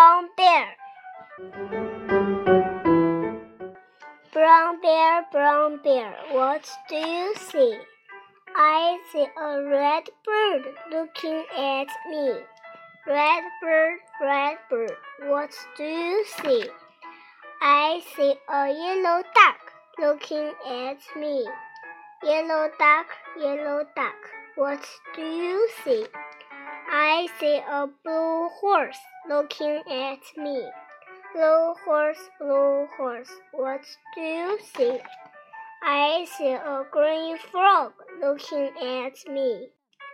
Brown bear. Brown bear, what do you see? I see a red bird looking at me. Red bird, what do you see? I see a yellow duck looking at me. Yellow duck, what do you see? I see a blue horse looking at me. Blue horse, what do you see? I see a green frog looking at me.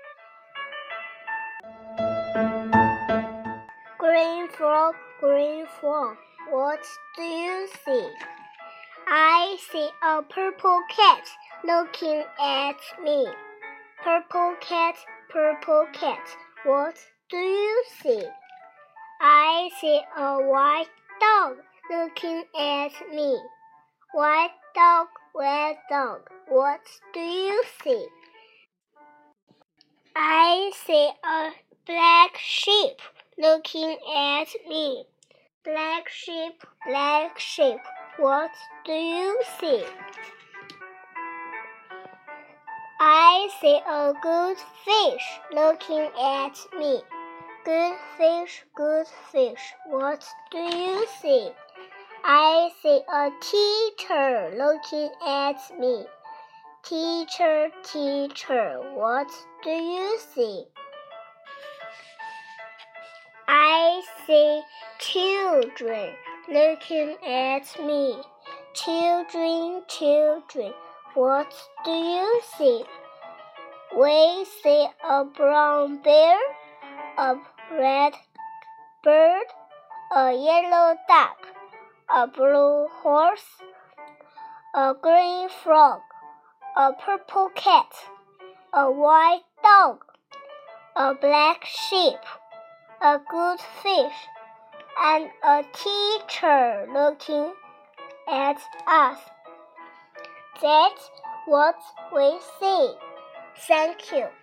Green frog, what do you see? I see a purple cat looking at me. Purple cat, what do you see? I see a white dog looking at me. White dog, what do you see? I see a black sheep looking at me. Black sheep, what do you see? I see a good fish looking at me. Good fish, what do you see? I see a teacher looking at me. Teacher, what do you see? I see children looking at me. Children, what do you see? We see a brown bear, a red bird, a yellow duck, a blue horse, a green frog, a purple cat, a white dog, a black sheep, a good fish, and a teacher looking at us. That's what we see. Thank you.